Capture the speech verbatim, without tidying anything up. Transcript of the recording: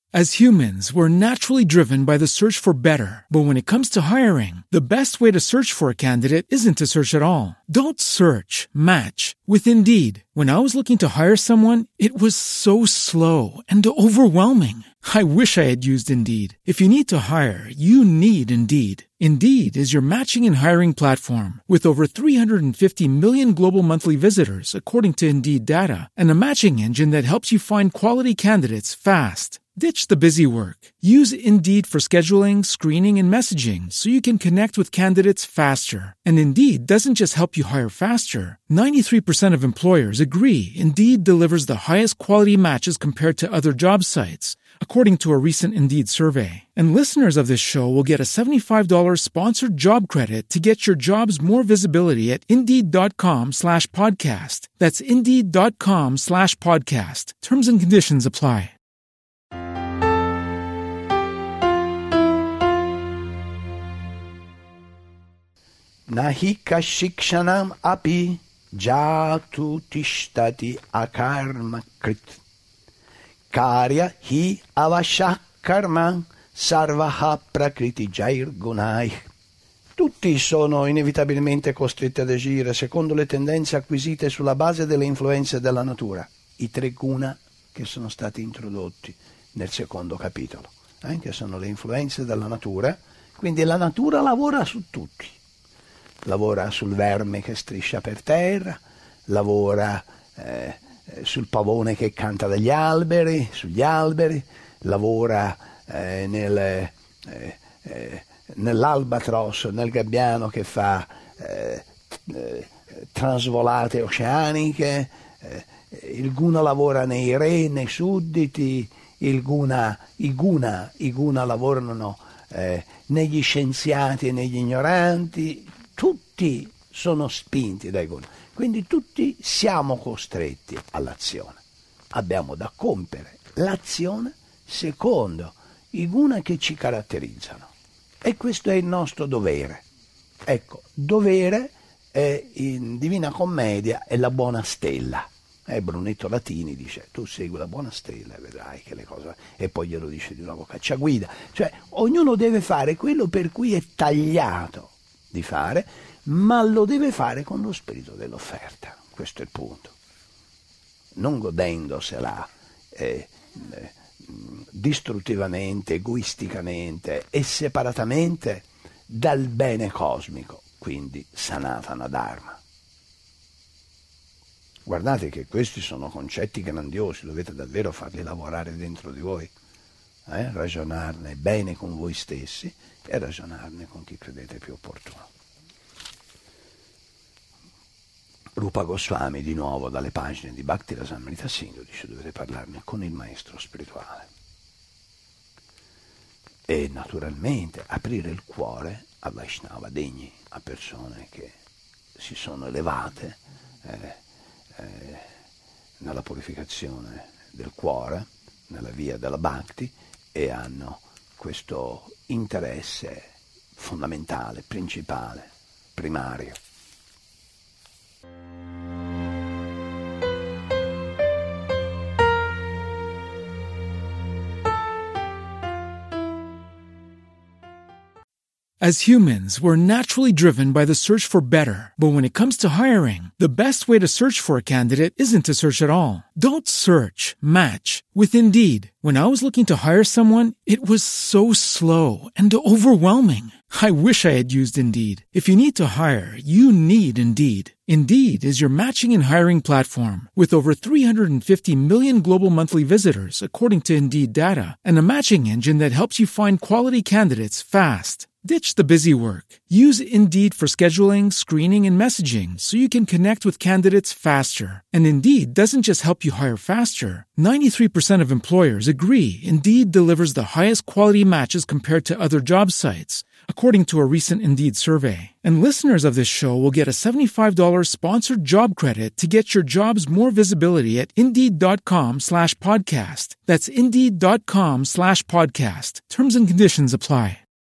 As humans, we're naturally driven by the search for better. But when it comes to hiring, the best way to search for a candidate isn't to search at all. Don't search, match with Indeed. When I was looking to hire someone, it was so slow and overwhelming. I wish I had used Indeed. If you need to hire, you need Indeed. Indeed is your matching and hiring platform with over three hundred fifty million global monthly visitors, according to Indeed data, and a matching engine that helps you find quality candidates fast. Ditch the busy work. Use Indeed for scheduling, screening, and messaging so you can connect with candidates faster. And Indeed doesn't just help you hire faster. ninety-three percent of employers agree Indeed delivers the highest quality matches compared to other job sites, according to a recent Indeed survey. And listeners of this show will get a seventy-five dollars sponsored job credit to get your jobs more visibility at Indeed.com slash podcast. That's Indeed.com slash podcast. Terms and conditions apply. Nahika shikshanam api jatu tishtati akarma krit. Karya hi avashak karma sarvaha prakriti jair gunai. Tutti sono inevitabilmente costretti ad agire secondo le tendenze acquisite sulla base delle influenze della natura, i tre guna che sono stati introdotti nel secondo capitolo, eh, che sono le influenze della natura. Quindi la natura lavora su tutti. Lavora sul verme che striscia per terra, lavora eh, sul pavone che canta dagli alberi, sugli alberi, lavora eh, nel, eh, eh, nell'albatros, nel gabbiano che fa eh, eh, trasvolate oceaniche, eh, il guna lavora nei re, nei sudditi, il guna, i guna, i guna lavorano eh, negli scienziati e negli ignoranti. Tutti sono spinti dai guna, quindi tutti siamo costretti all'azione. Abbiamo da compiere l'azione secondo i guna che ci caratterizzano. E questo è il nostro dovere. Ecco, dovere è in Divina Commedia è la buona stella. Eh, Brunetto Latini dice: tu segui la buona stella e vedrai che le cose... E poi glielo dice di nuovo Cacciaguida. Cioè, ognuno deve fare quello per cui è tagliato di fare, ma lo deve fare con lo spirito dell'offerta. Questo è il punto. Non godendosela eh, eh, distruttivamente, egoisticamente e separatamente dal bene cosmico, quindi Sanatana Dharma. Guardate che questi sono concetti grandiosi, dovete davvero farli lavorare dentro di voi, eh? Ragionarne bene con voi stessi e ragionarne con chi credete più opportuno. Rupa Goswami, di nuovo dalle pagine di Bhakti Rasamrita Sindhu, dice: dovete parlarne con il maestro spirituale. E naturalmente aprire il cuore a Vaishnava degni, a persone che si sono elevate eh, eh, nella purificazione del cuore, nella via della Bhakti, e hanno questo interesse fondamentale, principale, primario. As humans, we're naturally driven by the search for better. But when it comes to hiring, the best way to search for a candidate isn't to search at all. Don't search, match with Indeed. When I was looking to hire someone, it was so slow and overwhelming. I wish I had used Indeed. If you need to hire, you need Indeed. Indeed is your matching and hiring platform with over three hundred fifty million global monthly visitors, according to Indeed data, and a matching engine that helps you find quality candidates fast. Ditch the busy work. Use Indeed for scheduling, screening, and messaging so you can connect with candidates faster. And Indeed doesn't just help you hire faster. ninety-three percent of employers agree Indeed delivers the highest quality matches compared to other job sites, according to a recent Indeed survey. And listeners of this show will get a seventy-five dollars sponsored job credit to get your jobs more visibility at Indeed.com slash podcast. That's Indeed.com slash podcast. Terms and conditions apply.